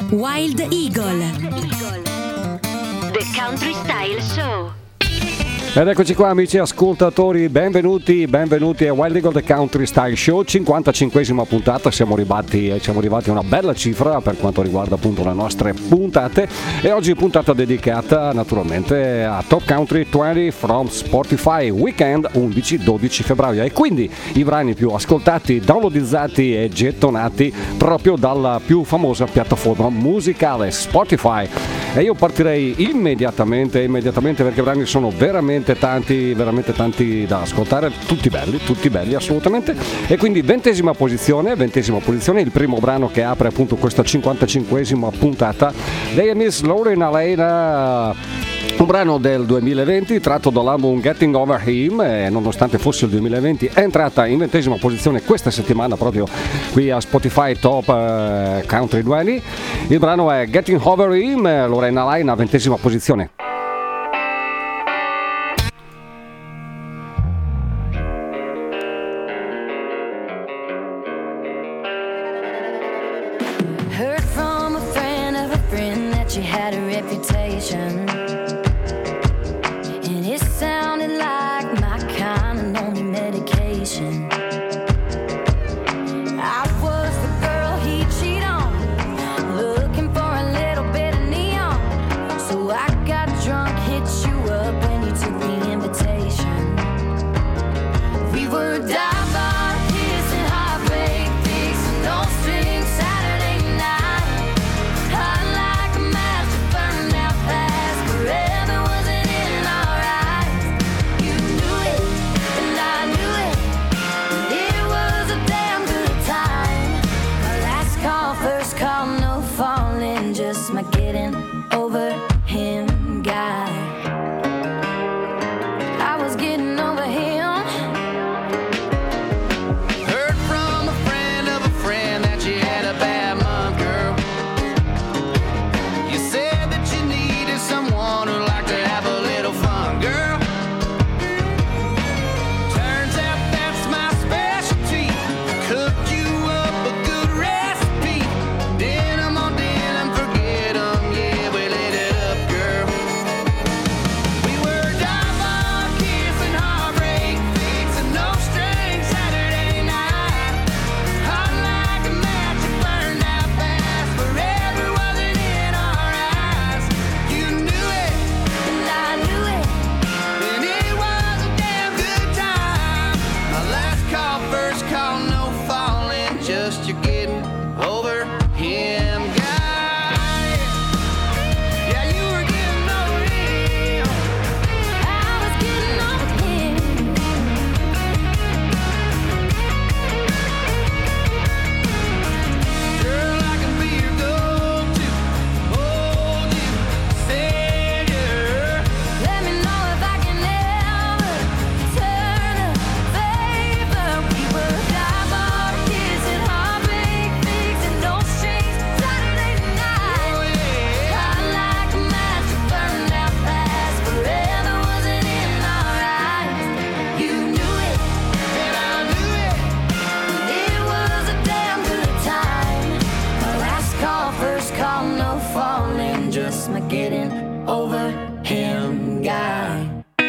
Wild Eagle, The Country Style Show. Ed eccoci qua amici ascoltatori, benvenuti a Wild Eagle The Country Style Show, 55esima puntata, siamo arrivati a una bella cifra per quanto riguarda appunto le nostre puntate, e oggi puntata dedicata naturalmente a Top Country 20 from Spotify, weekend 11-12 febbraio, e quindi i brani più ascoltati, downloadizzati e gettonati proprio dalla più famosa piattaforma musicale Spotify. E io partirei immediatamente perché i brani sono veramente tanti da ascoltare, tutti belli assolutamente. E quindi 20ª posizione, il primo brano che apre appunto questa 55esima puntata, lei è Miss Lauren Alaina, un brano del 2020 tratto dall'album Getting Over Him, e nonostante fosse il 2020 è entrata in 20ª posizione questa settimana proprio qui a Spotify Top Country 20. Il brano è Getting Over Him, Lorena Alaina, 20ª posizione. Heard from a friend of a friend that you had a reputation, and it sounded like my kind of lonely medication. I was the girl he cheated on, looking for a little bit of neon. So I got drunk, hit you up when you took the invitation. We were dive bar, kissing, heartbreak, fixing no strings, Saturday night. Hot like a match that burned out fast, forever wasn't in our eyes. You knew it, and I knew it, and it was a damn good time. My last call, first call, no falling, just my getting over him guy. I was getting over him. Heard from a friend that you had a bad month, girl. You said that you needed someone who liked to have a little fun, girl. Turns out that's my specialty. Cooked you up a good recipe. Denim on denim, forget 'em, yeah, we lit it up, girl. We were dive on, kissing, heartbreak, fixing no strings, Saturday night. Hot like a match, it burned out fast, forever wasn't in our eyes. You knew it, And I knew it. and it was a damn good time. My last call, first call, no falling, just you getting over him, guy. Yeah, you were getting over him. I was getting over him. Girl, I can be your go-to, hold you, savior. Let me know if I can ever turn a favor. We were dive bar, kissing, heartbreak, fixing no strings, Saturday night. Oh yeah. Hot like a match, it burned out fast, forever wasn't in our eyes. You knew it, And I knew it. it was a damn good time. My last call, first call, no falling, just my getting over him guy.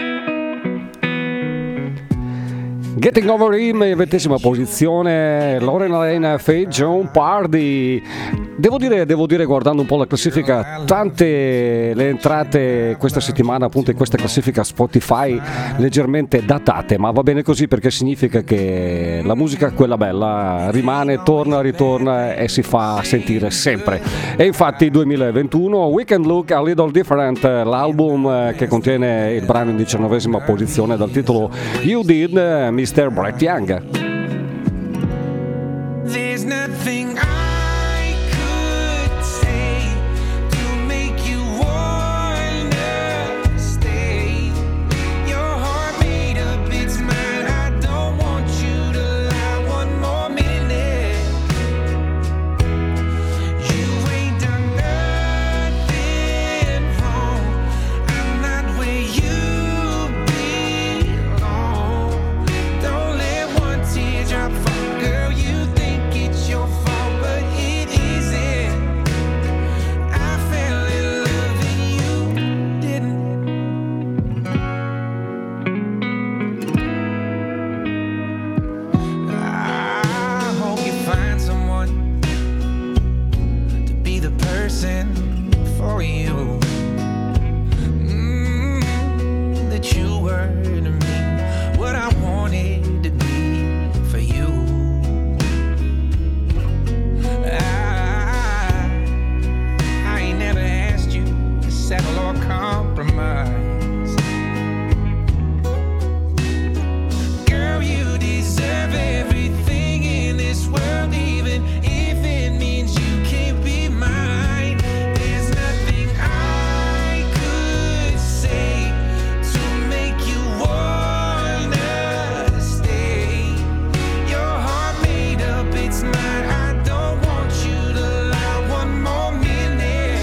Getting Over Him in 20ª posizione, Lauren Alaina, Faith Joan Pardy. Devo dire, guardando un po' la classifica, tante le entrate questa settimana appunto in questa classifica Spotify leggermente datate, ma va bene così perché significa che la musica, quella bella, rimane, ritorna e si fa sentire sempre. E infatti 2021, We Can Look a Little Different, l'album che contiene il brano in 19ª posizione dal titolo You Did, Mr. Brett Young. There's nothing I could say to make you wanna stay. Your heart made up, it's mine. I don't want you to lie one more minute. You ain't done nothing wrong. I'm not where you belong. Don't let one tear reason for you. That you were to me what I wanted to be for you. I ain't never asked you to settle or compromise. Girl, you deserve everything in this world, even if it means you can't be mine. There's nothing I could say to make you wanna stay. Your heart made up, it's mine. I don't want you to lie one more minute.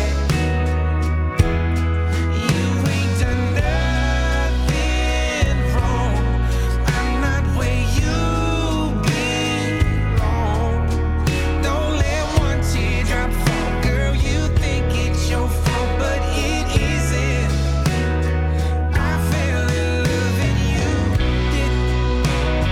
You ain't done nothing wrong. I'm not where you belong. Don't let one teardrop fall. Girl, you think it's your fault, but it isn't. I fell in love and you didn't.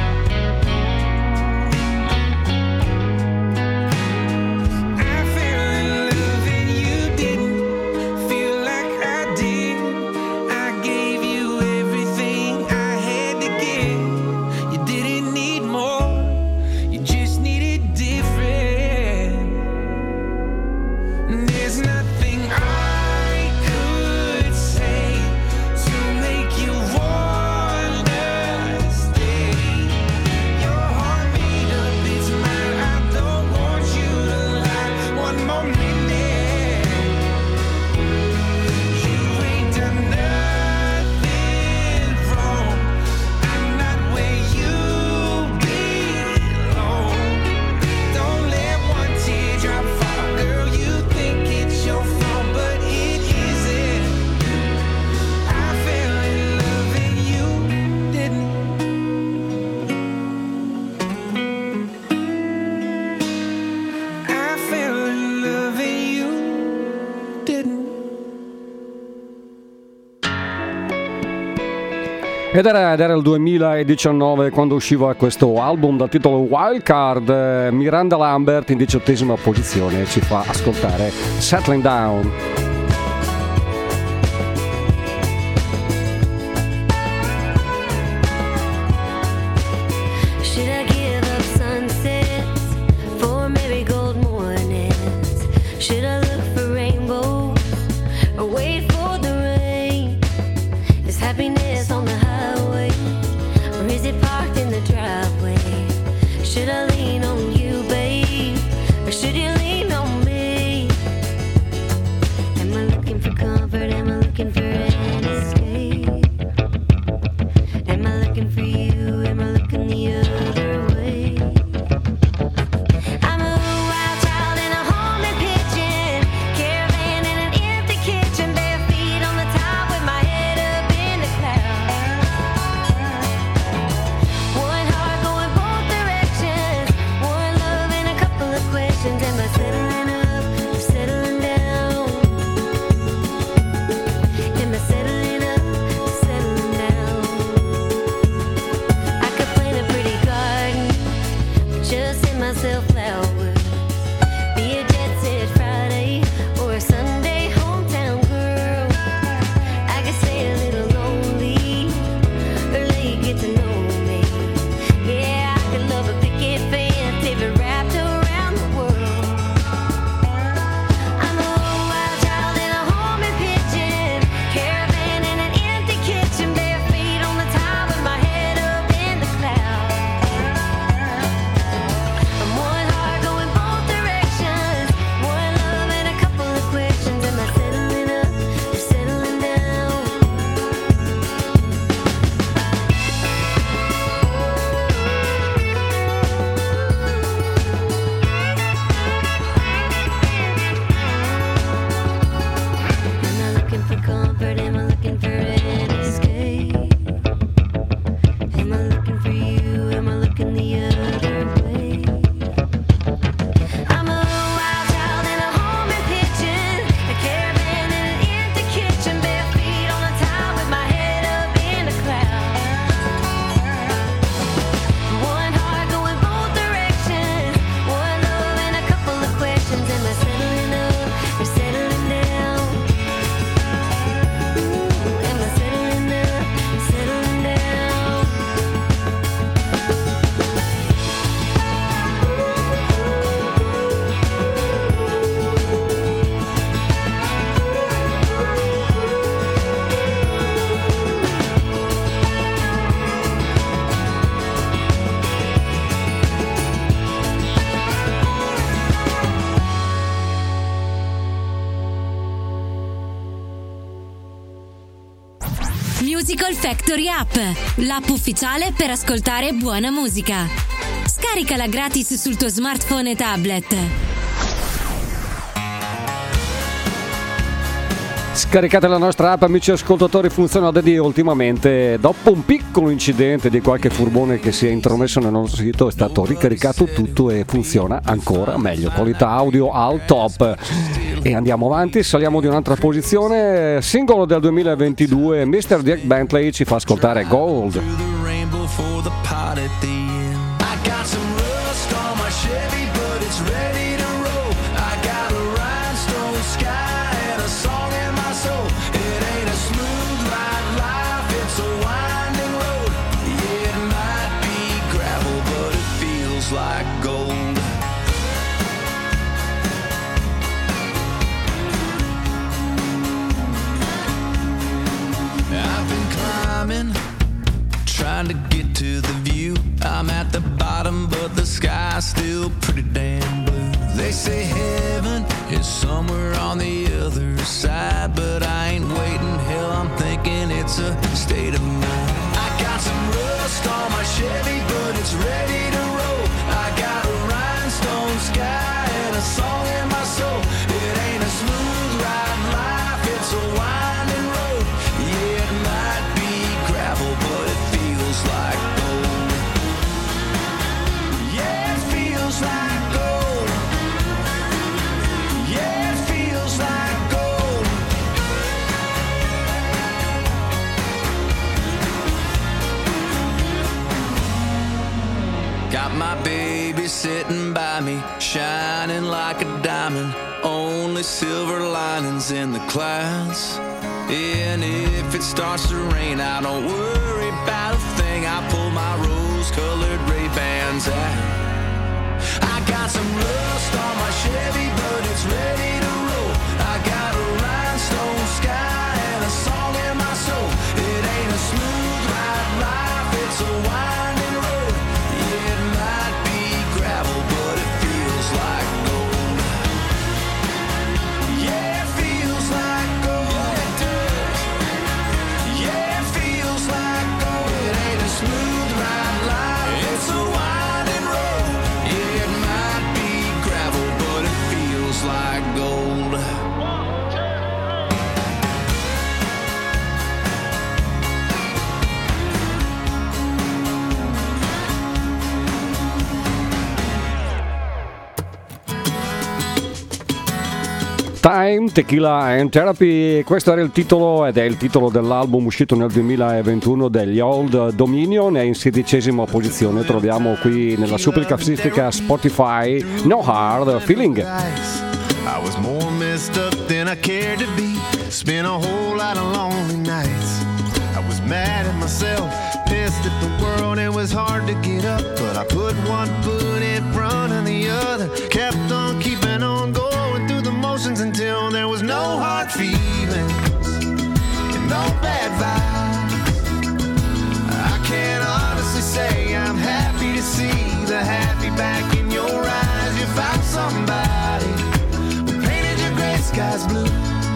I fell in love and you didn't feel like I did. I gave you everything I had to give. You didn't need more, you just needed different. There's nothing I could say to make you wanna stay. Your heart made up, it's mine. I don't want you to lie one more minute. You ain't done nothing wrong. I'm not where you belong. Don't let one teardrop fall. Girl, you think it's your fault, but it isn't. I fell in love and you didn't. I fell in love and you didn't. Ed era il 2019 quando usciva questo album dal titolo Wild Card. Miranda Lambert in 18ª posizione ci fa ascoltare Settling Down. Should I give up sunsets for marigold mornings? Should I look for rainbows or wait for the rain? Is happiness on the highway or is it parked in the driveway? Should I lean on you, babe, or should you lean on me? Am I looking for comfort? Am I looking for an escape? Am I looking for you? Am I looking the other way? I'm a wild child in a homing pigeon. Musical Factory App, l'app ufficiale per ascoltare buona musica. Scaricala gratis sul tuo smartphone e tablet. Scaricate la nostra app, amici ascoltatori, funziona da Dio ultimamente. Dopo un piccolo incidente di qualche furbone che si è intromesso nel nostro sito, è stato ricaricato tutto e funziona ancora meglio. Qualità audio al top. E andiamo avanti, saliamo di un'altra posizione. Singolo del 2022, Mr. Dirk Bentley ci fa ascoltare Gold. Like gold. I've been climbing, trying to get to the view. I'm at the bottom, but the sky's still pretty damn blue. They say heaven is somewhere on the other side, but I ain't waiting. Hell, I'm thinking it's a state of mind. I got some rust on my Chevy, but it's ready to roll. I got a rhinestone sky and a song in my soul. It ain't a smooth ride life, it's a winding road. Yeah, it might be gravel, but it feels like gold. Yeah, it feels like gold. Yeah, it feels like gold. Got my baby sitting by me, shining like a diamond. Only silver linings in the clouds. And if it starts to rain, I don't worry about a thing. I pull my rose-colored Ray-Bans out. I got some rust on my Chevy, but it's ready to roll. I got a rhinestone sky and a song in my soul. It ain't a smooth ride life, it's a winding road. Yeah, it might be gravel, but it feels like gold. Yeah, it feels like gold. Yeah, it does. Yeah, it feels like gold. It ain't a smooth ride life, it's a winding road. Yeah, it might be gravel, but it feels like gold. Time, Tequila and Therapy, questo era il titolo ed è il titolo dell'album uscito nel 2021 degli Old Dominion, è in 16ª posizione, troviamo qui nella super classifica Spotify No Hard Feeling. I was more messed up than I cared to be. Spent a whole lot of lonely nights. I was mad at myself, pissed at the world. It was hard to get up, but I put one foot in front of the other. Kept on keeping on going through the motions until there was no hard feelings and no bad vibes. I can't honestly say I'm happy to see the happy back in your eyes. You found somebody who painted your gray skies blue.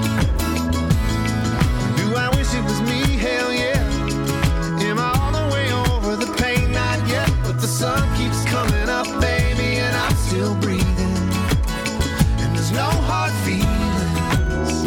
Do I wish it was me? Hell yeah. Am I all the way over the pain? Not yet, but the sun keeps coming up, baby, and I'm still breathing. And there's no hard feelings.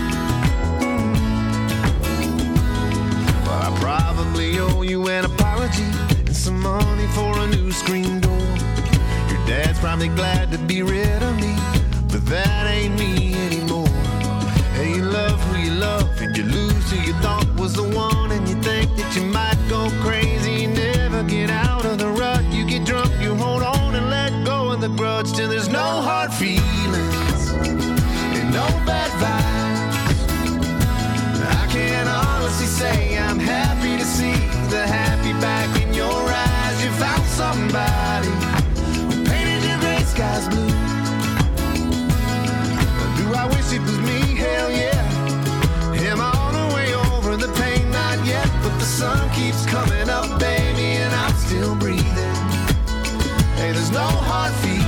But I probably owe you an apology and some money for a new screen door. Your dad's probably glad to be rid of me, but that ain't me anymore. Hey, you love who you love, and you lose who you thought was the one, and you think that you might go crazy. You never get out of the rut. You get drunk, you hold on and let go of the grudge till there's no hard feelings and no bad vibes. I can't honestly say I'm happy to see the happy back in your eyes. You found somebody who painted your gray skies blue. Do I wish it was me? Hell yeah. Am I all the way over the pain? Not yet, but the sun keeps coming up, baby, and I'm still breathing. Hey, there's no hard feelings.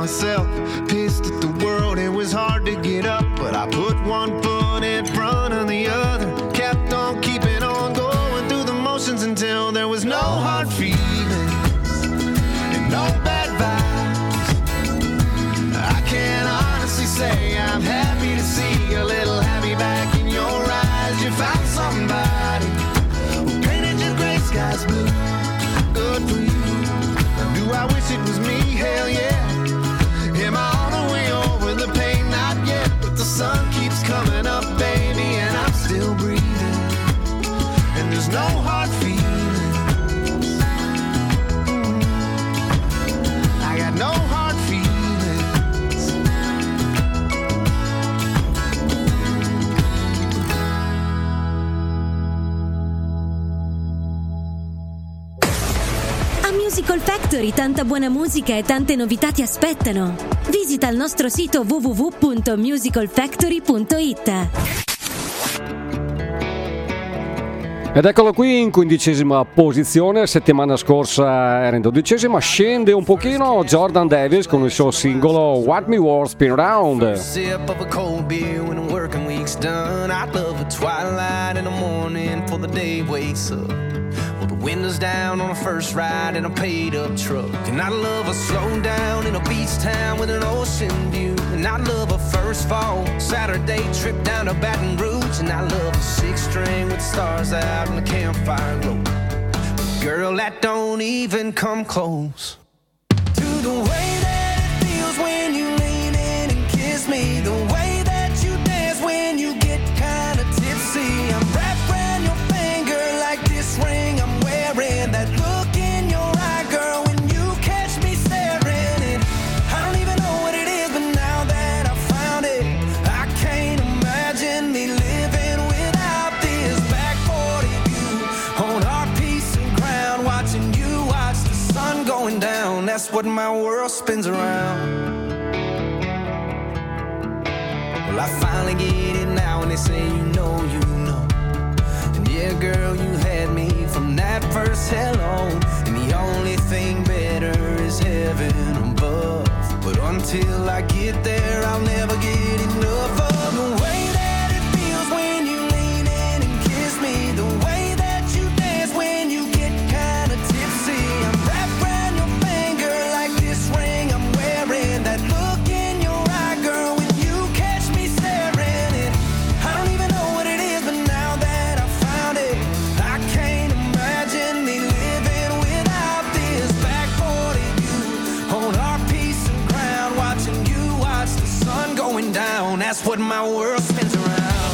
myself, pissed at the world. It was hard to get up, but I put one foot in front of the other, kept on keeping on going through the motions until there was no hard feelings and no bad vibes. I can honestly say I'm happy to see a little happy back in your eyes. You found somebody who painted your gray skies blue. Good for you. Do I wish it was me? Hell yeah. Am I on the way over the pain? Not yet, but the sun keeps coming up, baby, and I'm still breathing. And there's no hard feelings. I got no hard feelings. A Musical Factory tanta buona musica e tante novità ti aspettano. Visita il nostro sito www.musicalfactory.it. Ed eccolo qui in 15ª posizione, settimana scorsa era in 12ª, scende un pochino Jordan Davis con il suo singolo What Me Worth Spin Round. Sip of a cold beer when the working week's done. I love a twilight in the morning for the day wakes up. Well, the windows down on a first ride in a paid up truck. And I love a slow down in a beach town with an ocean view. And I love a first fall Saturday trip down to Baton Rouge. And I love a six string with stars out and the campfire glow. But girl, that don't even come close to the way that it feels when you lean in and kiss me. The way that you dance when you get kinda tipsy. I'm wrapped around your finger like this ring I'm wearing. That look in your eye, girl, when you catch me staring. And I don't even know what it is, but now that I found it, I can't imagine me living without this. Back 40 view on our piece of ground, watching you watch the sun going down. That's what my world spins around. Well, I finally get it now, and they say you know, you know. And yeah, girl, you had me from that first hello. And the only thing better is heaven above. But until I get there, I'll never get enough of the way that it feels when you lean in and kiss me. The way that you dance when you get kinda tipsy. I'm wrapped around your finger like this ring I'm wearing. That look in your eye, girl, when you catch me staring. And I don't even know what it is, but now that I found it, I can't imagine me living without this. Back 40 view on our piece of ground, watching you watch the sun going down. That's what my world spins around.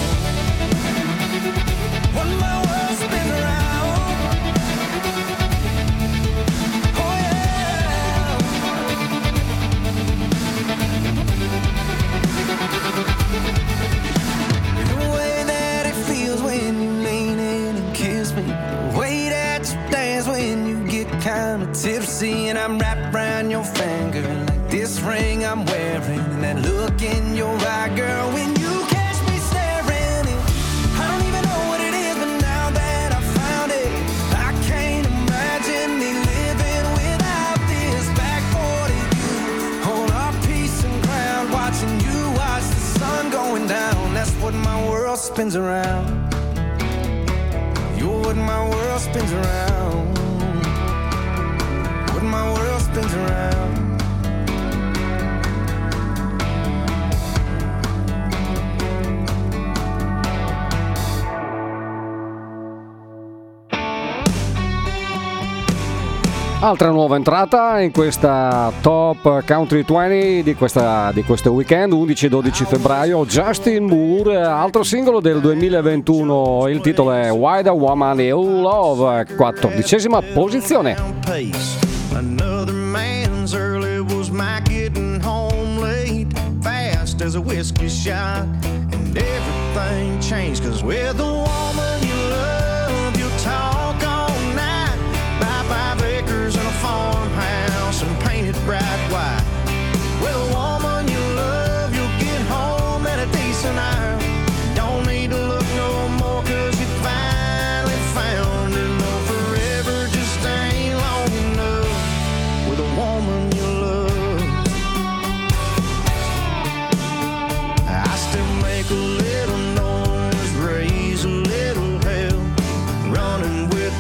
What my world spins around. Oh yeah. The way that it feels when you lean in and kiss me. The way that you dance when you get kinda tipsy. And I'm wrapped around your finger like this ring I'm wearing. And that look in your eye, girl, when you catch me staring. And I don't even know what it is, but now that I found it, I can't imagine me living without this. Back 40 view on our piece of ground, watching you watch the sun going down. That's what my world spins around. You're what my world spins around. What my world spins around. Altra nuova entrata in questa Top Country 20 di questo weekend, 11-12 febbraio, Justin Moore, altro singolo del 2021, il titolo è Why the Woman You Love, 14ª posizione. Pace. Another man's early was my getting home late, fast as a whiskey shot, and everything changed, cause with the woman you love, you talk all night, buy 5 acres and a farmhouse and paint it bright white. With a woman you love, you'll get home at a decent hour, don't need to look no more, cause you finally found her. No, forever just ain't long enough with a woman you love.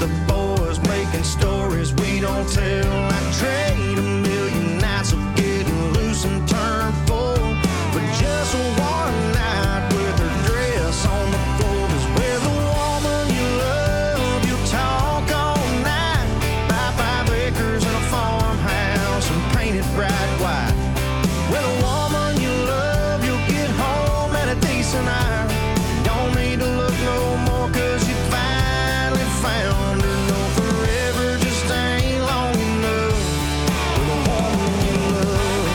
the boys making stories we don't tell. I trade a million nights of getting loose and turn full for just one night with her dress on the floor. 'Cause with a woman you love, you talk all night. Buy 5 acres and a farmhouse and paint it bright white. With a woman you love, you'll get home at a decent hour. Don't need to look no more 'cause you finally found her. No, forever just ain't long enough with a woman you love.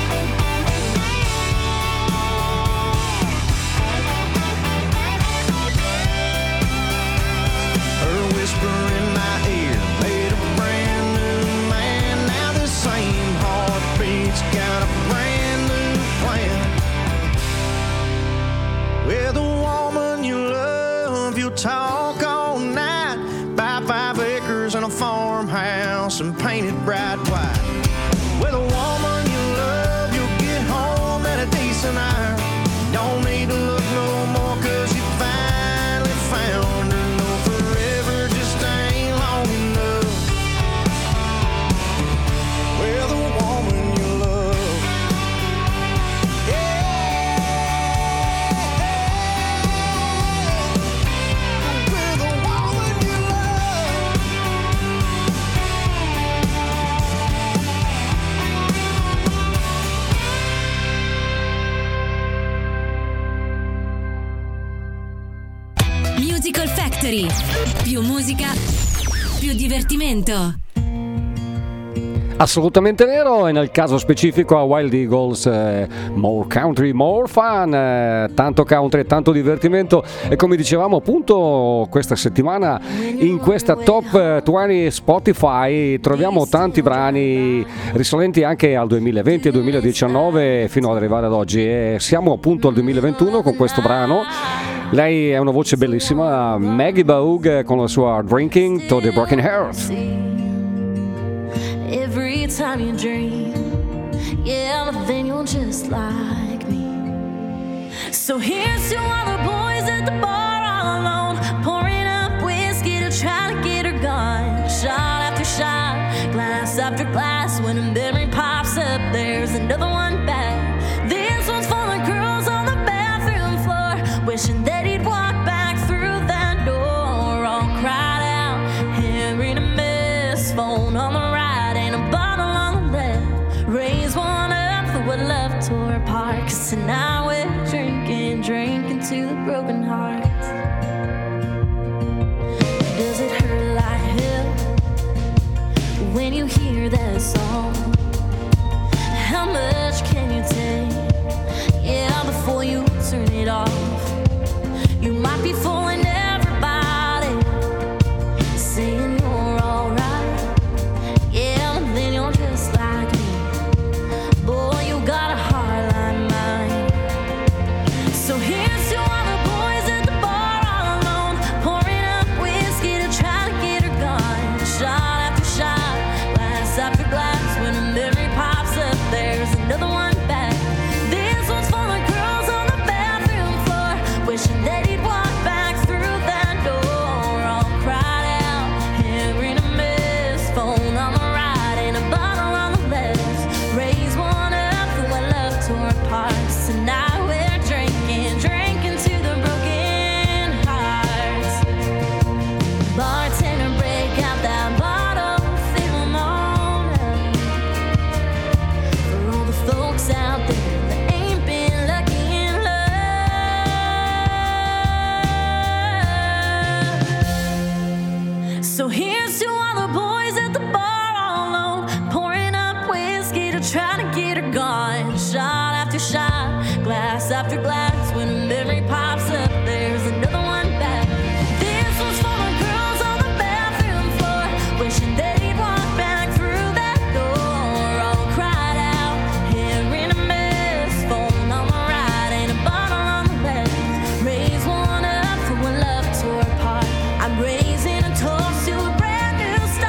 Her whisper in my ear made a brand new man. Now the same heartbeat's got a brand new plan. With a woman you love, you'll talk all night. Buy 5 acres and a farmhouse and paint it bright white. With a woman you love, you'll get home at a decent hour. Don't need to look no more 'cause you finally found her. No, forever just ain't long enough with a woman you love. With a woman you love. Musical Factory. Più musica, più divertimento. Assolutamente vero, e nel caso specifico a Wild Eagles more country, more fun, tanto country, tanto divertimento. E come dicevamo appunto questa settimana in questa Top 20 Spotify troviamo tanti brani risalenti anche al 2020 e 2019 fino ad arrivare ad oggi, e siamo appunto al 2021 con questo brano. Lei è una voce bellissima, Maggie Bogue, con la sua Drinking to the Broken Heart. Every time you dream, yeah, but then you're just like me. So here's to all the boys at the bar all alone, pouring up whiskey to try to get her gone. Shot after shot, glass after glass, when a memory pops up, there's another one back. This one's for the girls on the bathroom floor, wishing that he'd walk back through that door, all cried out, hearing a miss, phone on the right and a bottle on the left. Raise one up for what love tore apart, 'cause tonight we're drinking, drinking to the broken hearts. Does it hurt like hell when you hear that song? How much can you take? Yeah, before you turn it off. You might be fooling everybody, saying you're alright. Yeah, but then you're just like me. Boy, you got a heart like mine. So here's to all the boys at the bar all alone, pouring up whiskey to try to get her gone. Shot after shot, glass after glass, when a memory pops up, there's another one back. This one's for the girls on the bathroom floor, wishing that he'd walk back through that door, all cried out, hearing a miss, phone on the right and a bottle on the left. Raise one up for what love tore apart. Tonight we're drinking, drinking to the broken hearts. Bartender, break out that bottle, fill 'em all up. For all the folks out there that ain't been lucky in love. So here's to all the boys at the bar all alone, pouring up whiskey to try to get her gone. Shot after shot, glass after glass, when a memory pops up, there's another one back. This one's for the girls on the bathroom floor, wishing that he'd walk back through that door, all cried out, hearing a miss, phone on the right and a bottle on the left. Raise one up for what love tore apart. I'm raising a toast to a brand new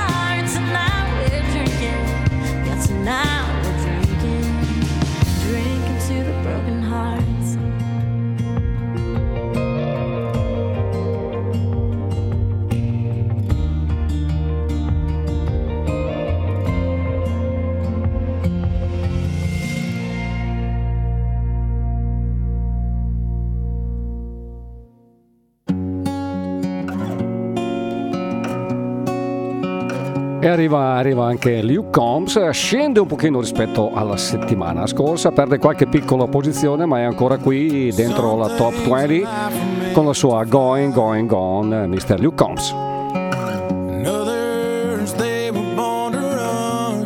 E arriva anche Luke Combs, scende un pochino rispetto alla settimana scorsa, perde qualche piccola posizione ma è ancora qui dentro la top 20 con la sua Going Going Gone, Mr. Luke Combs. And others, they were born to run.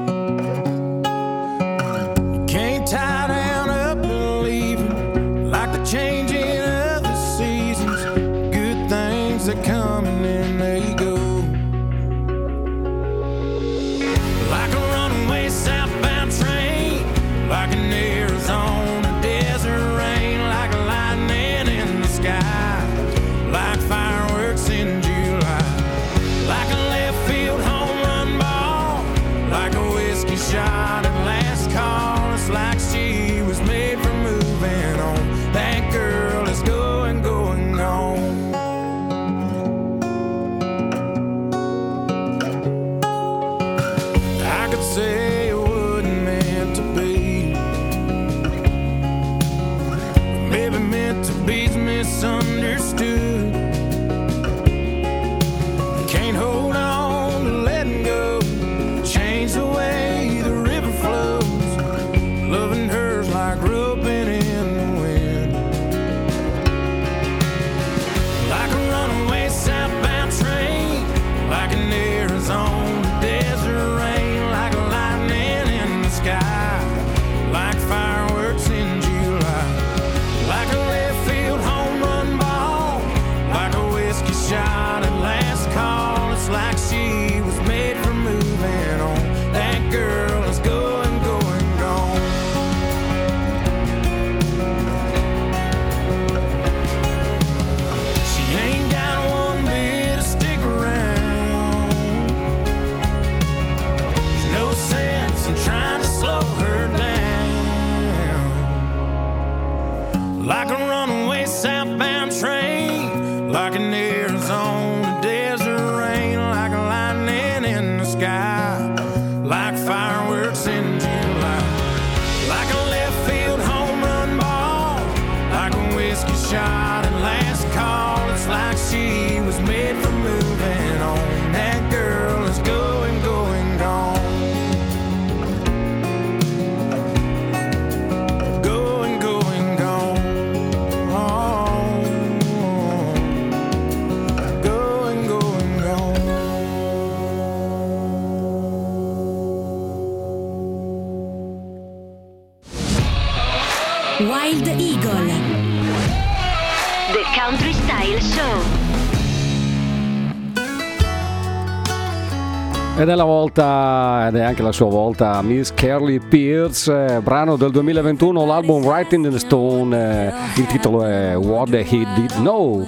You can't tie down up and leave 'em, like the changing of the seasons. Good things that come and then they go. Like a runaway southbound train, like an Arizona desert rain, like lightning in the sky, like fireworks in July, like a left field home run ball, like a whiskey shot at last call. It's like she was made for moving on. That girl is going, going, gone. I could say it wasn't meant to be, maybe meant to be's misunderstood. Can't hold on to letting go, change the way the river flows. Loving her's like roping in the wind, like a runaway southbound train, like an Arizona desert rain, like lightning in the sky, like fireworks in July, like a left field home run ball, like a whiskey shot at last call. It's like she was made for moving on. That girl is going, going, gone. She ain't got one bit to stick around. There's no sense in trying to slow her down. Like a runaway southbound train, like an Arizona desert rain, like a lightning in the sky, like fireworks in July, like a left field home run ball, like a whiskey shot at last call. It's like she was made for moving on. That girl is going, going, gone. Going, going, gone. Going, going, gone. Wild Eagle. The Country Style Show. Ed è la volta, ed è anche la sua volta, Miss Carly Pearce, brano del 2021, l'album Writing in the Stone, il titolo è What He Did Know.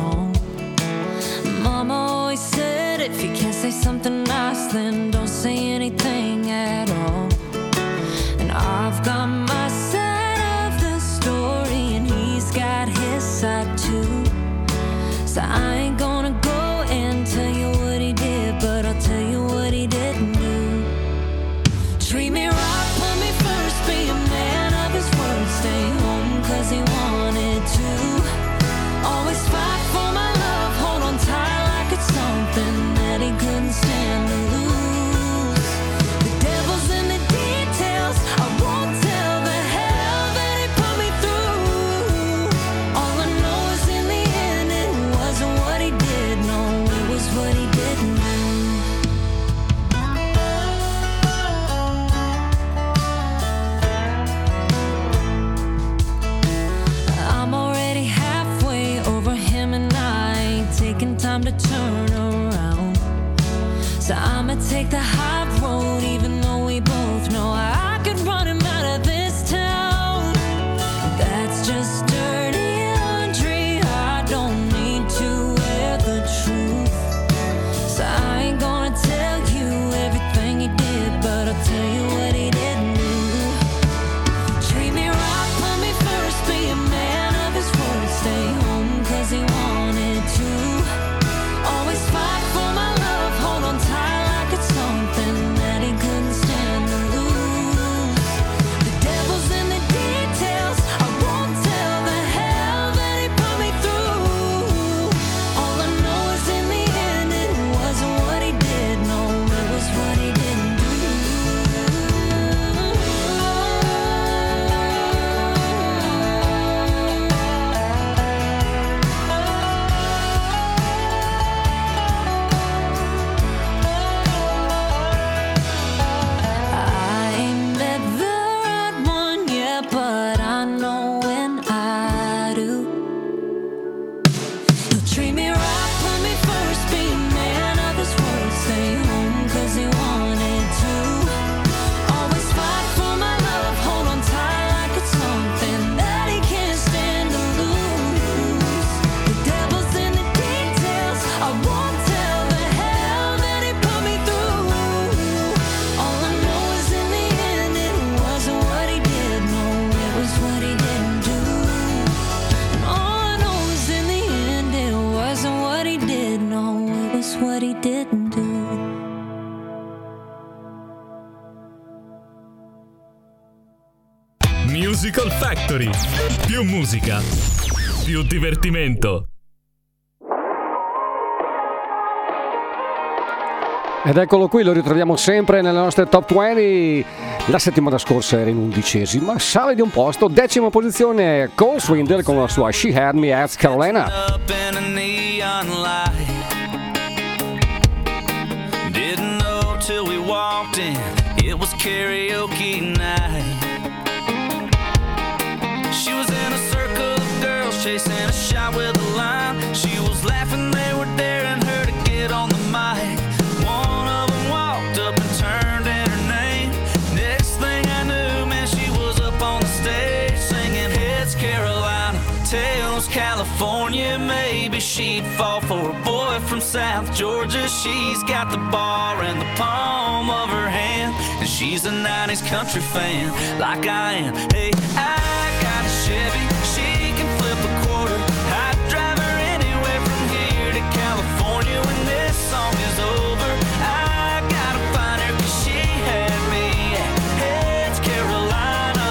Mama always said if you can't say something nice, then don't say anything at all. And I've got my side of the story, and he's got his side too. So I ain't gonna go and tell you what he did, but I'll tell you what he didn't do. Treat me right, put me first, be a man of his word, stay home 'cause he wanted to. Always fight for my love, hold on tight like it's something that he couldn't stand to lose. The devil's in the details, I won't tell the hell that he put me through. All I know is in the end it wasn't what he did, no, it was what he didn't do. I'm already halfway over him and I ain't taking time to turn around. So I'ma take the high road even though we both know I could run him out of this town. That's just dirty laundry, I don't need to wear the truth. So I ain't gonna tell you everything he did, but I'll tell you what he didn't do. Treat me right, put me first, be a man of his word, stay home 'cause he wanted to. Always fight for my love, hold on tight like it's something Musical Factory. Più musica, più divertimento. Ed eccolo qui, lo ritroviamo sempre nelle nostre top 20. La settimana scorsa era in 11ª, sale di un posto, 10ª posizione, Cole Swindle con la sua She Had Me at Carolina. Up in a neon light. Didn't know till we walked in, it was karaoke night. She was in a circle of girls chasing a shot with a line. She was laughing, they were daring her to get on the mic. One of them walked up and turned in her name. Next thing I knew, man, she was up on the stage singing Heads Carolina, Tails California. Maybe she'd fall for a boy from South Georgia. She's got the bar in the palm of her hand, and she's a 90s country fan like I am. Hey, I got a Chevy, she can flip a quarter. I'd drive her anywhere from here to California. When this song is over, I gotta find her 'cause she had me at Heads Carolina.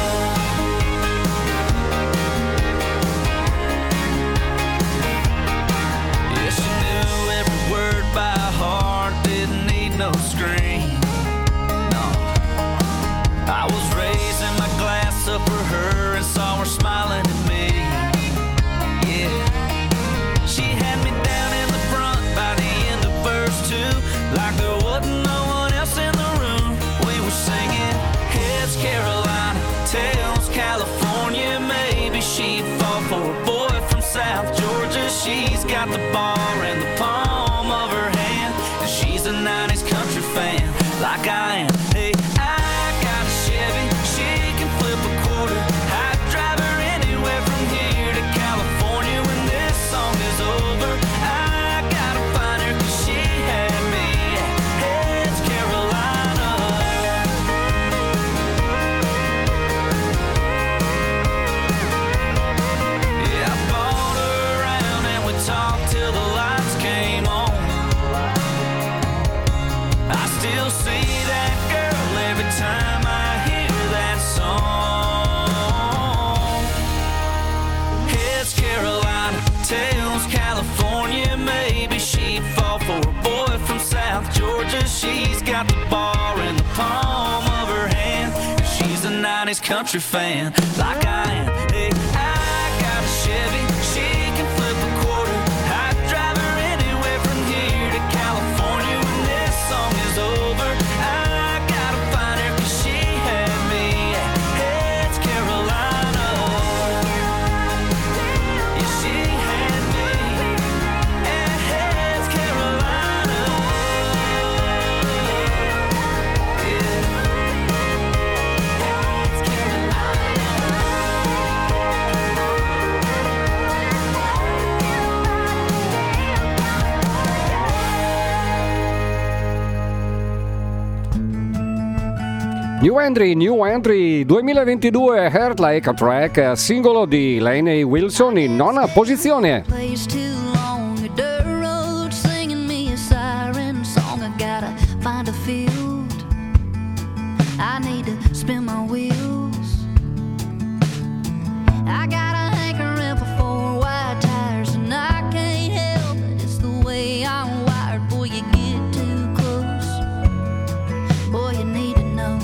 Yeah, she knew every word by heart, didn't need no screen. No, I was raising my glass up for her and saw her smiling at me. Yeah, she had me down in the front by the end of verse 2, like there wasn't no one else in the room. We were singing Heads Carolina, Tails California. Maybe she'd fall for a boy from South Georgia. She's got the bar in the palm of her hand, and she's a 90s country fan like I am. Hey, I got a Chevy, she can flip a quarter. I'd drive her anywhere from here to California. When this song is over, I gotta find her 'cause she had me at Heads Carolina. Yeah, I bought her around and we talked till the lights came on. I still see that girl every time I hear that song. Heads Carolina, Tails California. Maybe she'd fall for a boy from South Georgia. She's got the bar in the palm of her hand. She's a 90s country fan like I am. Hey, I got a Chevy, she can flip a quarter. I'd drive her anywhere from here to California. When this song is over, I gotta find her 'cause she had me at Heads Carolina. Yeah, she had me at Heads Carolina. Yeah. Heads New Entry 2022, Heart Like a Track, singolo di Lainey Wilson in 9ª posizione. Place too long, a dirt road singing me a siren song. I gotta find a field, I need to spin my wheels. I got a hankering for 4 wide tires, and I can't help it, it's the way I'm wired. Boy, you get too close, boy, you need to know.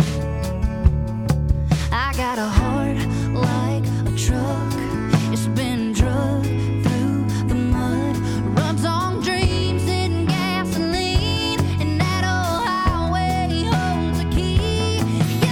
I got a heart like a truck, it's been drugged through the mud, runs on dreams and gasoline, and that old highway holds a key.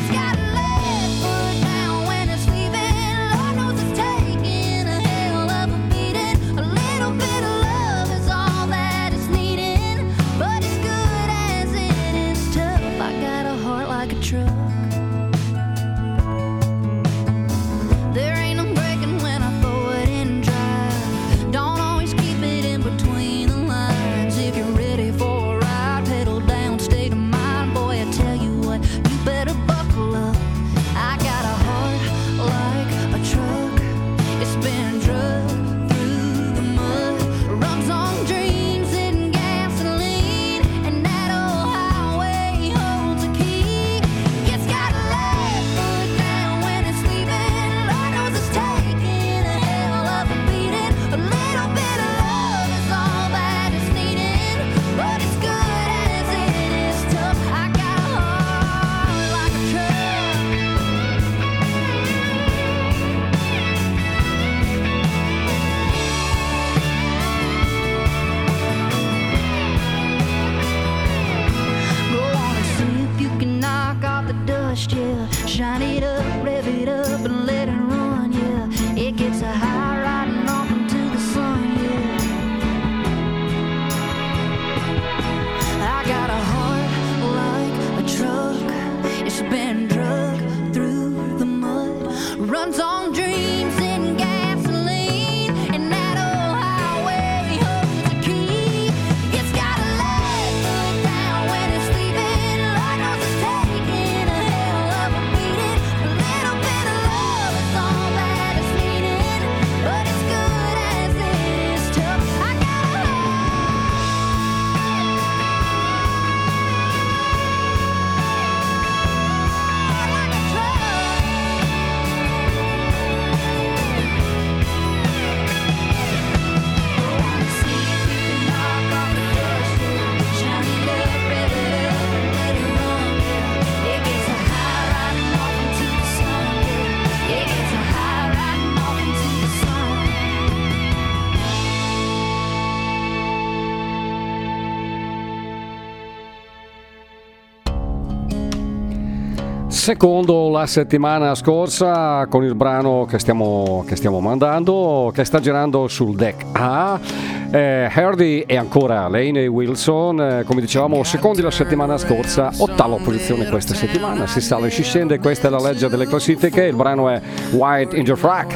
Secondo la settimana scorsa con il brano che stiamo mandando, che sta girando sul deck A, Hardy e ancora Lainey Wilson, come dicevamo secondi la settimana scorsa, ottava posizione questa settimana, si sale e si scende, questa è la legge delle classifiche, il brano è White in Your Frack.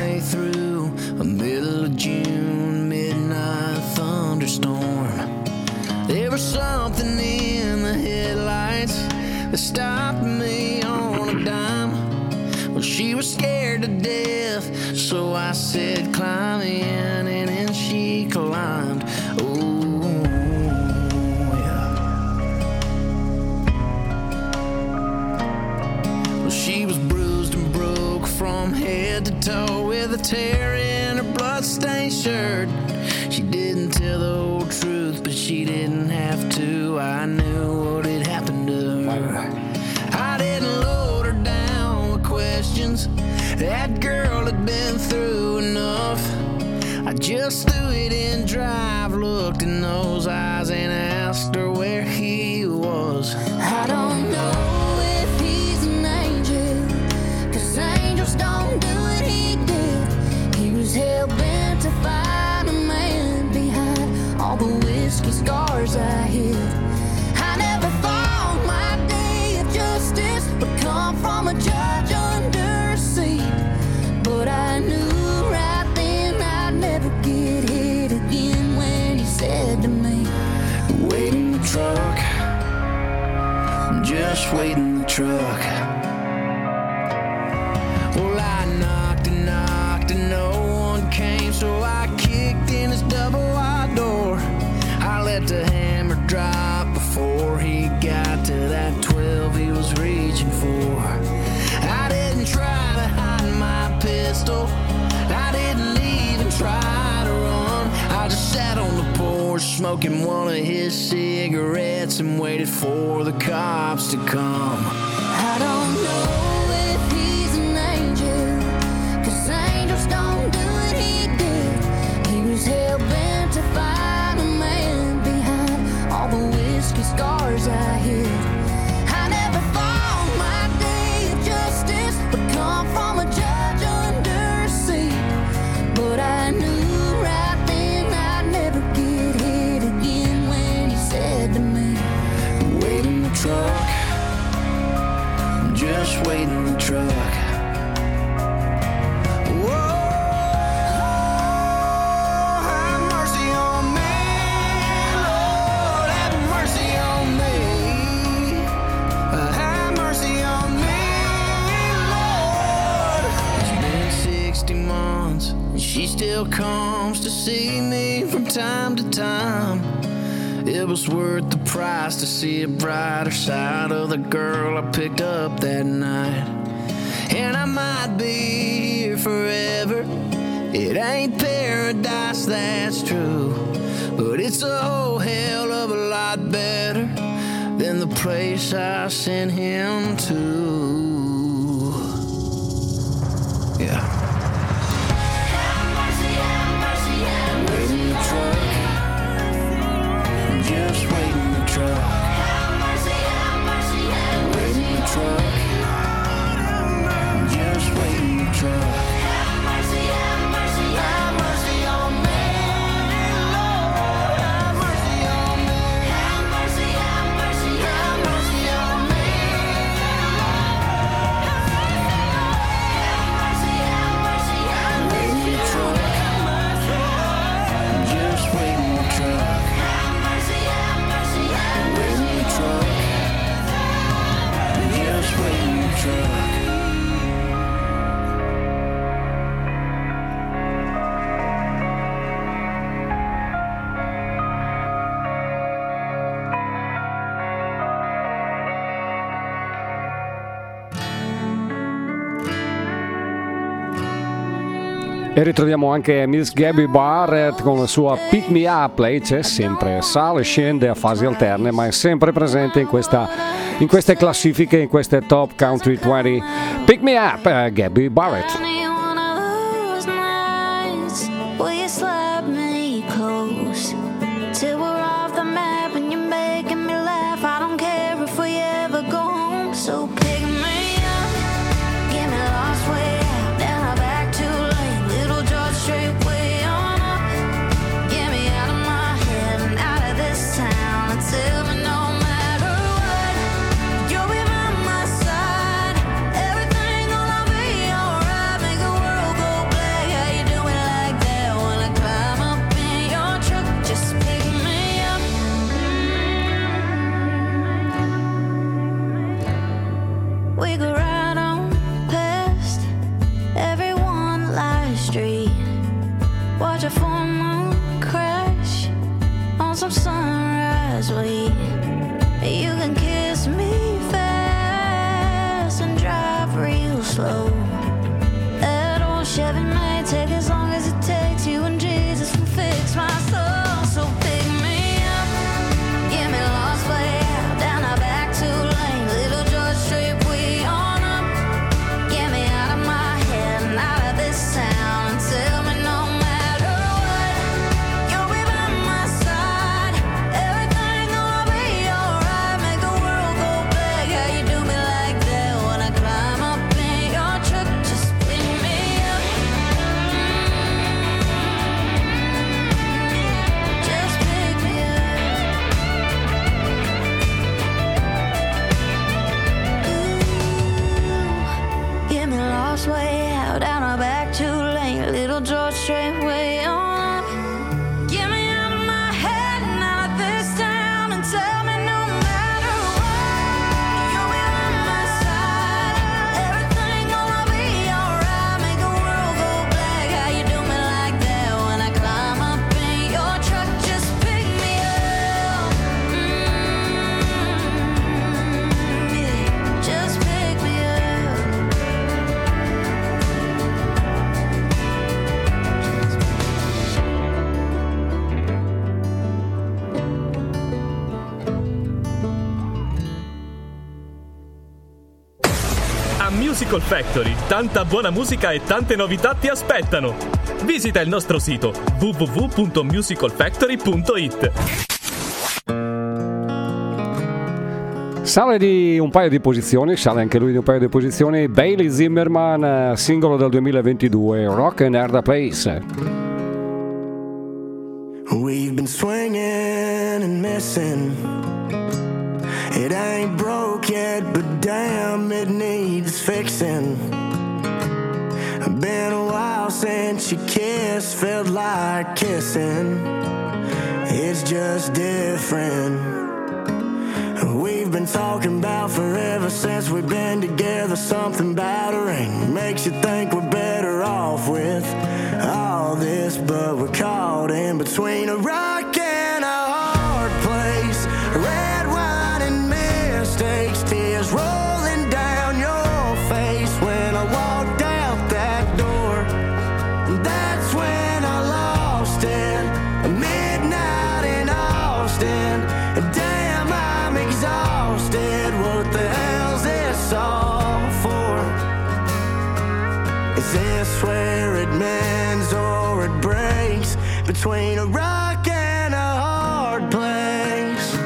There was something in the headlights that stopped me on a dime. Well, she was scared to death, so I said, climb in, and then she climbed. Oh, yeah. Well, she was bruised and broke from head to toe with a tear in her bloodstained shirt. She didn't tell the whole truth, but she didn't have to. I knew what had happened to her. I didn't load her down with questions. That girl had been through enough. I just threw it in drive, looked in those eyes and asked her where he was. I don't know if he's an angel, 'cause angels don't do what he did. He was hell-bent to find a man behind all the whiskey scars I hid. I never thought my day of justice would come from a judge under a seat, but I knew right then I'd never get hit again when he said to me, wait in the truck, just wait in the truck. Well, I knocked and no one came, so I kicked in his double wide door. I let the hammer drop before he got to that 12 he was reaching for. I didn't try to hide my pistol, I didn't even try to run. I just sat on the porch smoking one of his cigarettes and waited for the cops to come. I don't know if he's an angel, 'cause angels don't do what he did. He was hell-bent to find a man behind all the whiskey scars I hid. I never thought my day of justice would come from a judge under a seat, but I knew right then I'd never get hit again when he said to me, wait in the truck, just wait in the truck. Whoa, have mercy on me, Lord, have mercy on me. Have mercy on me, Lord. It's been 60 months and she still comes to see me from time to time. It was worth the price to see a brighter side of the girl I picked up that night. And I might be here forever. It ain't paradise, that's true, but it's a whole hell of a lot better than the place I sent him to. Yeah. Wait in the truck, just wait in the truck. Wait in the truck, just wait in the truck. Have mercy on me, Lord, have mercy on me. Have mercy on me, wait in the truck, just wait in the truck. Wait in the truck, just wait in the truck. E ritroviamo anche Miss Gabby Barrett con la sua Pick Me Up. Lei c'è sempre, sale e scende a fasi alterne, ma è sempre presente in queste classifiche, in queste Top Country 20. Pick Me Up, Gabby Barrett. one of those nights where you slap me close till we're off the map and you're making me laugh. I don't care if we ever go home, so pick me up. want some sunrise, wait. You can kiss me fast and drive real slow. That old Chevy may take as long as it takes. You and Jesus will fix my soul. So pick me up, get me lost way out down our back 2 lane, Little George Street, we on up. Get me out of my head and out of this town, and tell me no matter what, you'll be by my side. Everything gonna be alright. Make the world go big. How you do me like that when I climb up in your truck? Just pick me up. Just pick me up. Get me lost way out down our back 2 lane, Little George Street, way on up. Get me out of my head and out of this town, and tell me no matter what, you'll be by my side. Everything gonna be alright. Make the world go black. How you do me like that when I climb up in your truck? Just pick me up. Yeah. Just pick me up. A Musical Factory, tanta buona musica e tante novità ti aspettano. Visita il nostro sito www.musicalfactory.it. Sale di un paio di posizioni, sale anche lui di un paio di posizioni, Bailey Zimmerman, singolo del 2022, Rock and Hard Place. We've been swinging and missing. It ain't broke yet, but damn, it needs fixing. Been a while since you kissed, felt like kissing. It's just different. We've been talking about forever since we've been together. Something about a ring makes you think we're better off with all this, but we're caught in between a rock and a hard place. Red wine and mistakes, tears rolling down your face when I walked out that door. That's when I lost it. Midnight in Austin. Damn, I'm exhausted. What the hell's this all for? Is this where it mends or it breaks? Between a rock and a hard place.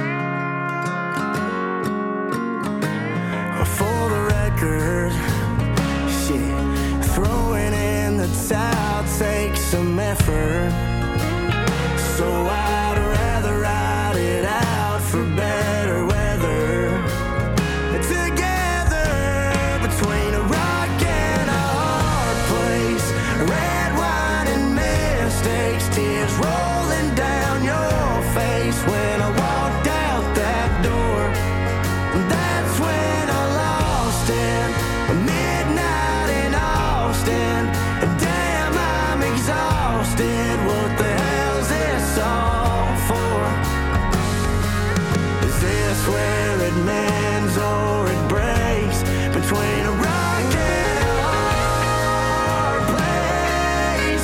For the record, shit, throwing in the towel takes some effort. So I'd rather ride it out for better weather. Together between a rock and a hard place. Red wine and mistakes, tears rolling down your face when I walked out that door. That's when I lost it. Midnight in Austin. Damn, I'm exhausted. What the hell's this all for? Is this where it mends or it breaks? Between a rock and a hard place.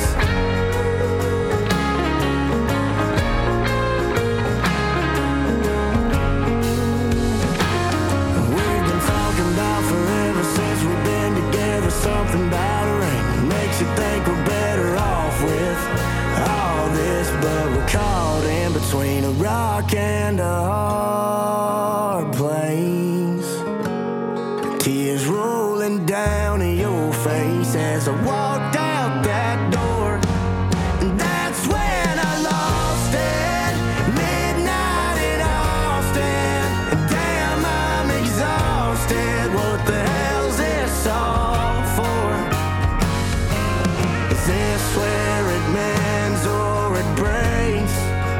We've been talking about forever since we've been together. Something about a ring makes you think we're better off with all this, but we're caught in between a rock and a hard place. Tears rolling down your face as I walked out that door. And that's when I lost it. Midnight in Austin. Damn, I'm exhausted. What the hell's this all for? Is this where it mends or it breaks?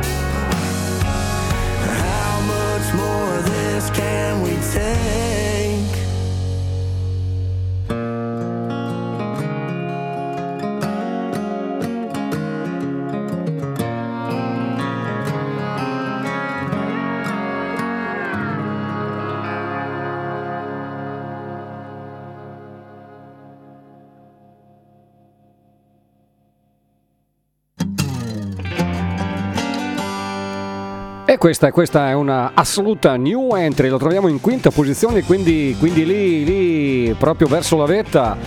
How much more of this can we take? E questa è una assoluta new entry, lo troviamo in quinta posizione, quindi lì proprio verso la vetta.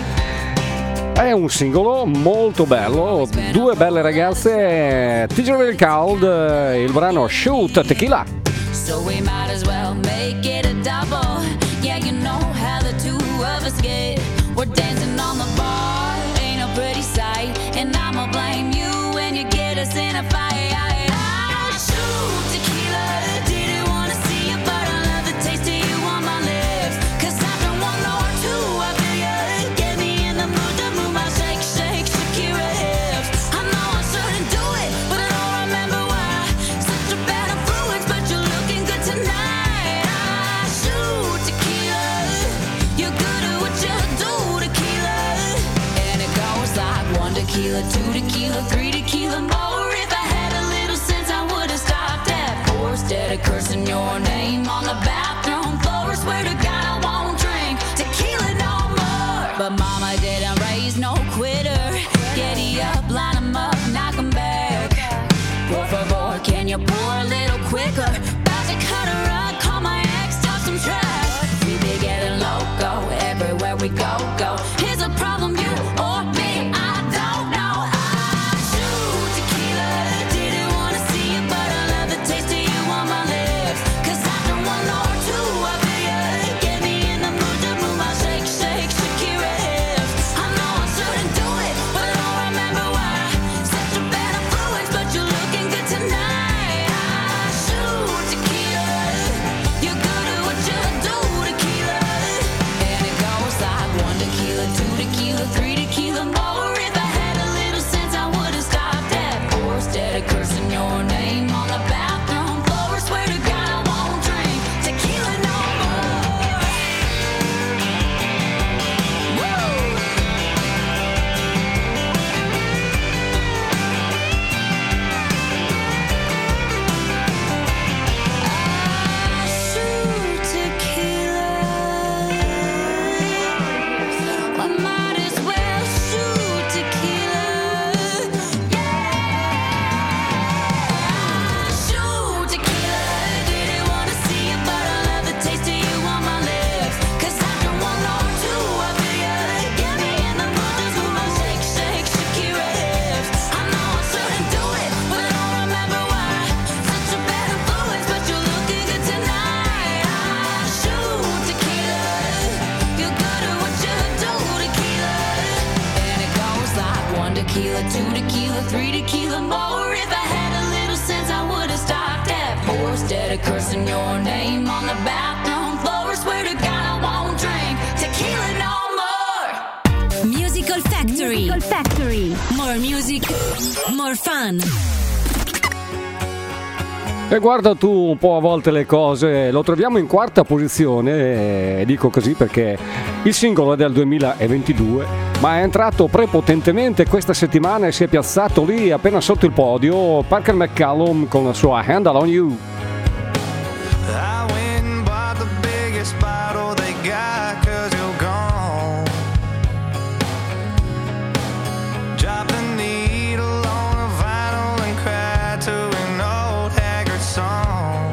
È un singolo molto bello, due belle ragazze, Tigre Cold, il brano Shoot Tequila. So we might as well make it a double. Yeah, you know how the two of us get. We're dancing on the bar, ain't no pretty sight. And I'ma blame you when you get us in a fight. I shoot tequila, didn't wanna see you, but I love the taste of you on my lips. 'Cause after one or two, I feel you get me in the mood to move my shake, shake, Shakira hips. I know I shouldn't do it, but I don't remember why. Such a bad influence, but you're looking good tonight. I shoot tequila, you're good at what you do, tequila. And it goes like 1 tequila, 2 tequila, 3 tequila more. If I had a little sense, I would've stopped at 4. Instead of cursing your name on the bathroom floor, I swear to God I won't drink tequila no more. But mama didn't raise no quitter. Giddy up, line 'em up, knock 'em back. Por favor, can you pour a little quicker? About to cut her up, call my ex, stop some trash. We be getting loco everywhere we go, go. Here's a problem, you or me, I don't know. I shoot tequila, didn't wanna see you, but I love the taste of you on my lips. 'Cause after 1 or 2, I feel you get me in the mood to move my shake, shake, Shakira hips. I know I shouldn't do it, but I don't remember why. Such a bad influence, but you're looking good tonight. I shoot tequila, you're good at what you do, tequila. And it goes like 1 tequila, 2 tequila, 3 tequila more. If I had a little sense, I would've stopped at 4. Instead of cursing your name on the bathroom floor, I swear to God I won't drink tequila no more. Woo! Shoot tequila, I might as well shoot tequila. Yeah, shoot tequila, didn't wanna see you, but I love the taste of you on my lips. 'Cause after 1 or 2, I feel you get me in the mood to move my shake, shake, Shakira hips. I know I shouldn't do it, but I don't remember why. Such a bad influence, but you're looking good tonight. I shoot tequila, you're good at what you do, tequila. And it goes like 1 tequila, 2 tequila, 3 tequila more. If I had a little sense, I would've stopped at 4. Instead of cursing your name on the bathroom floor, I swear to God I won't drink tequila no more. Musical Factory. More music, more fun. E guarda tu un po' a volte le cose, lo troviamo in quarta posizione, e dico così perché il singolo è del 2022, ma è entrato prepotentemente questa settimana e si è piazzato lì appena sotto il podio Parker McCallum con la sua Handle on You. I went and bought the biggest bottle they got 'cause you're gone. Drop the needle on a vinyl and cry to an old haggard song.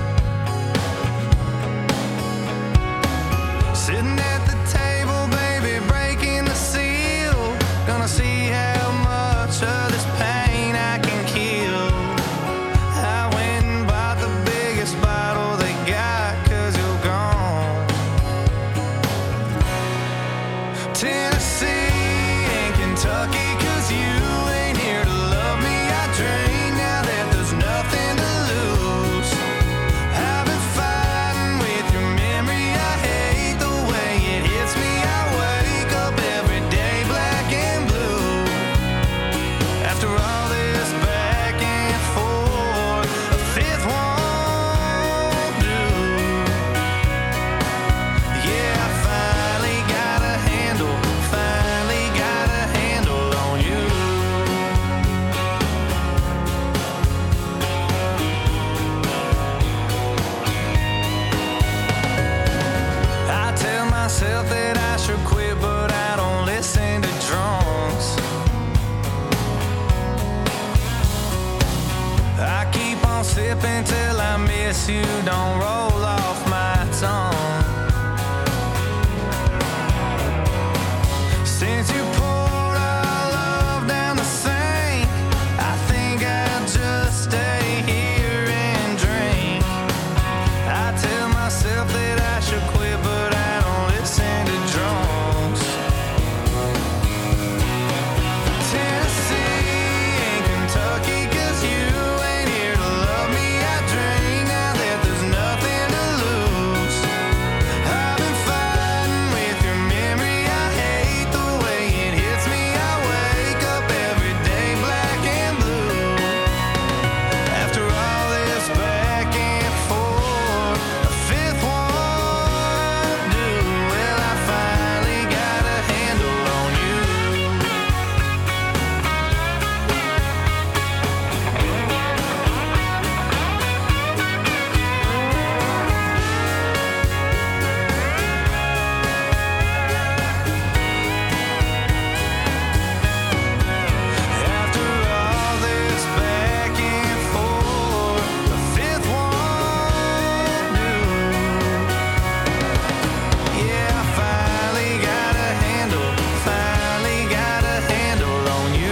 Sitting at the table, baby, breaking the seal. Gonna see how much of this pain I can kill. I went and bought till I miss you don't roll off my tongue. Since you poured our love down the sink, I think I'll just stay here and drink. I tell myself that I should quit, but I don't listen to drunks. Tennessee and Kentucky, 'cause you ain't here to love me. I drink now that there's nothing to lose. I've been fighting with your memory. I hate the way it hits me. I wake up every day black and blue. After all this back and forth, a fifth won't do. Well, I finally got a handle on you. After all this back and forth, a fifth won't do. Yeah, I finally got a handle on you.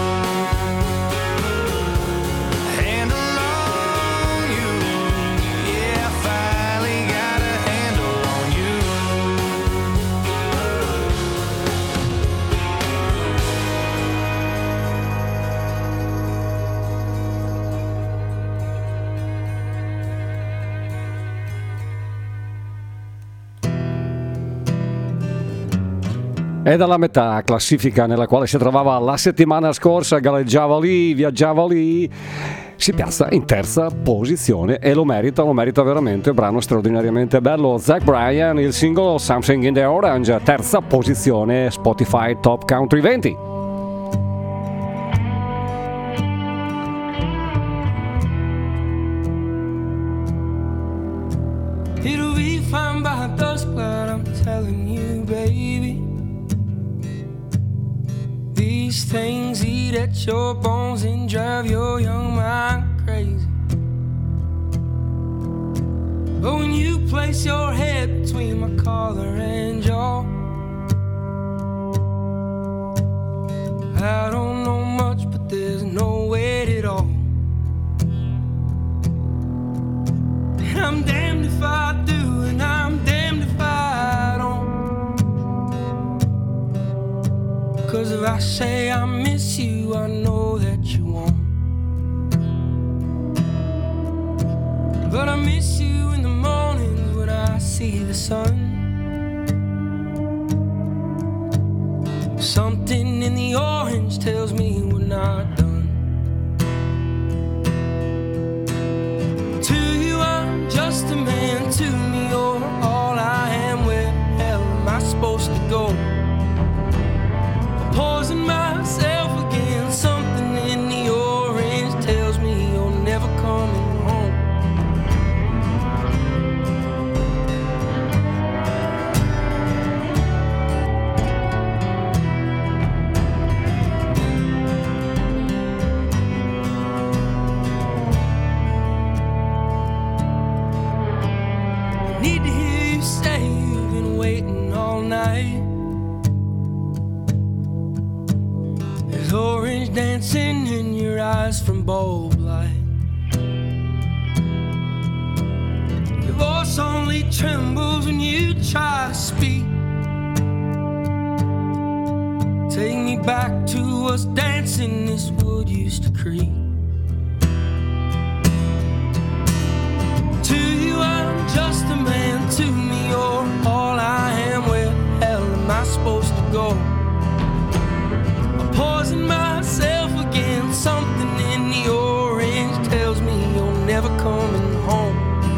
Handle on you. Yeah, I finally got a handle on you. È dalla metà classifica nella quale si trovava la settimana scorsa, galleggiava lì, viaggiava lì, si piazza in terza posizione e lo merita veramente, brano straordinariamente bello. Zach Bryan, il singolo Something in the Orange, terza posizione Spotify Top Country 20. It'll be fine by dusk, but I'm telling you, baby. These things eat at your bones and drive your young mind crazy. But when you place your head between my collar and jaw, I don't know much, but there's no weight at all. And I'm damned if I do, and I'm damned if I don't. 'Cause if I say I miss you, I know that you won't. But I miss you in the mornings when I see the sun. Something in the orange tells me we're not done. To you I'm just a man, to me you're all I am. Where the hell am I supposed to go? Poison myself again. Something in the orange tells me you're never coming home. Need to hear you say you've been waiting all night. There's orange dancing in your eyes from bulb light. Your voice only trembles when you try to speak. Take me back to us dancing this wood used to creak. To you I'm just a man, to me you're all I am. Where the hell am I supposed to go? Poison myself again. Something in the orange tells me you're never coming home.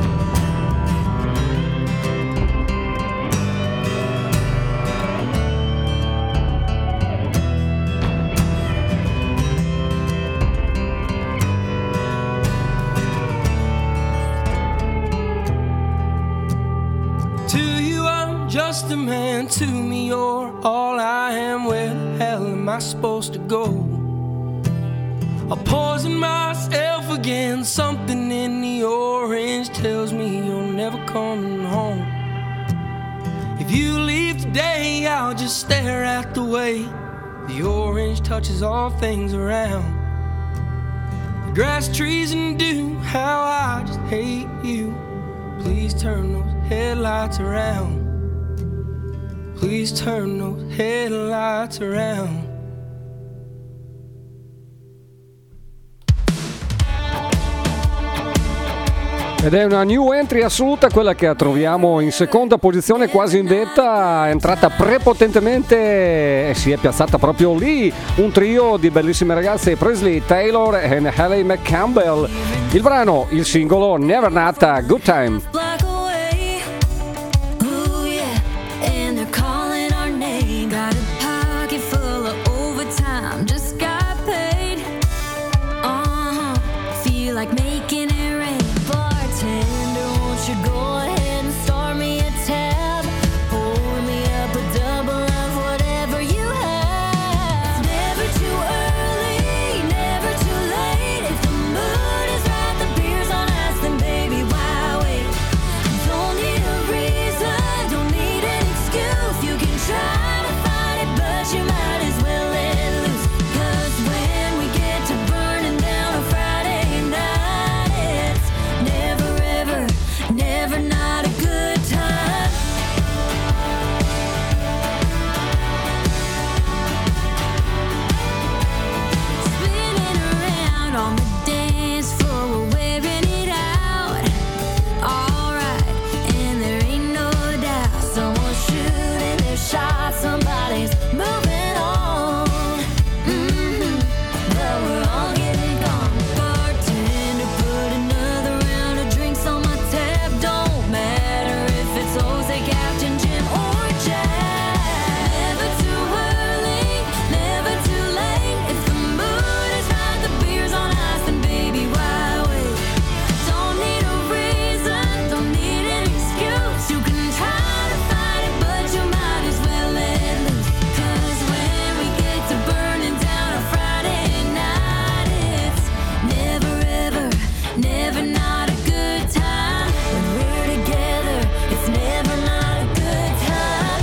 To you I'm just a man, to me you're all I am. Where the hell am I supposed to go? I'll poison myself again. Something in the orange tells me you're never coming home. If you leave today, I'll just stare at the way the orange touches all things around. The grass, trees, and dew, how I just hate you. Please turn those headlights around. Please turn those headlights around. Ed è una new entry assoluta, quella che troviamo in seconda posizione, quasi in vetta, è entrata prepotentemente e si è piazzata proprio lì. Un trio di bellissime ragazze, Presley, Taylor e Hayley McCampbell. Il brano, il singolo, Never Not a Good Time. Black away, ooh yeah, and they're calling our name. Got a pocket full of overtime, just got paid. Feel like making it rain. Bartender, won't you go ahead and start me a tab? Pour me up a double of whatever you have. Never too early, never too late. If the mood is right, the beer's on ice, then baby, why wait? Don't need a reason, don't need an excuse. You can try to fight it, but you might as well let loose. 'Cause when we get to burning down a Friday night, it's never ever, never not a good time. Spinning around on the dance floor, we're wearing it out. Alright, and there ain't no doubt someone's shooting their shot, somebody's moving on. But we're all getting gone. Bartender, put another round of drinks on my tab. Don't matter if it's Jose, Captain Jim, or Jack. Never too early, never too late. If the mood is right, the beer's on ice, then baby, why wait? Don't need a reason, don't need an excuse. You can try to fight it, but you might as well let loose. 'Cause when we get to burning down a Friday night, it's never ever, never not a good time. When we're together, it's never not a good time.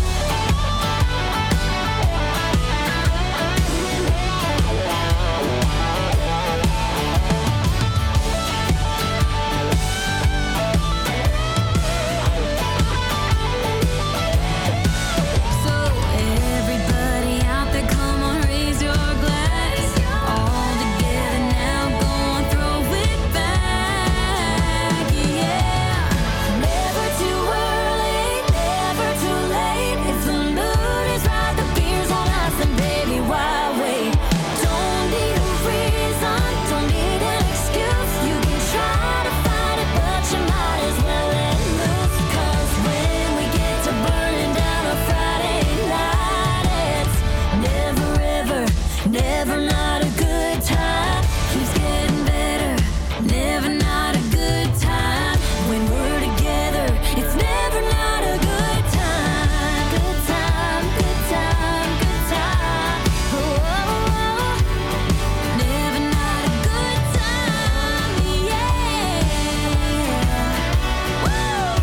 So everybody out there, come on, raise your glass. All together now, go on, throw it back. Yeah, never too early, never too late. If the mood is right, the beer's on us, and baby, why wait? Don't need a reason, don't need an excuse. You can try to fight it, but you might as well let loose. 'Cause when we get to burning down a Friday night, it's never ever, never not a good time. Keeps getting better, never not a good time. When we're together, it's never not a good time. Good time, good time, good time. Oh, never not a good time, yeah. Woo!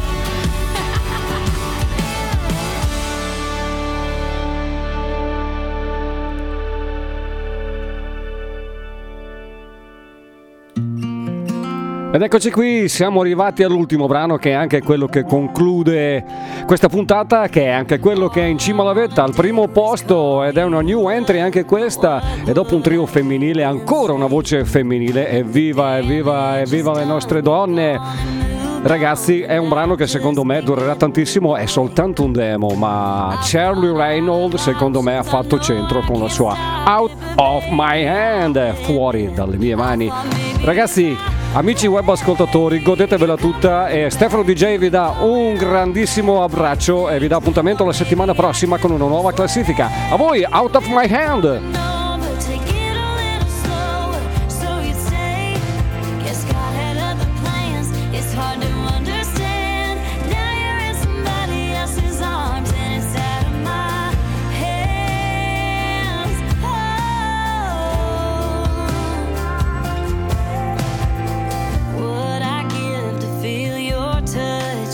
Ed eccoci qui, siamo arrivati all'ultimo brano, che è anche quello che conclude questa puntata, che è anche quello che è in cima alla vetta, al primo posto, ed è una new entry anche questa, e dopo un trio femminile, ancora una voce femminile. Evviva, evviva, evviva le nostre donne! Ragazzi, è un brano che secondo me durerà tantissimo, è soltanto un demo, ma Charlie Reynolds secondo me ha fatto centro con la sua Out of My Hand, fuori dalle mie mani. Ragazzi, amici web ascoltatori, godetevela tutta, e Stefano DJ vi dà un grandissimo abbraccio e vi dà appuntamento la settimana prossima con una nuova classifica. A voi, Out of My Hand!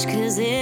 'cause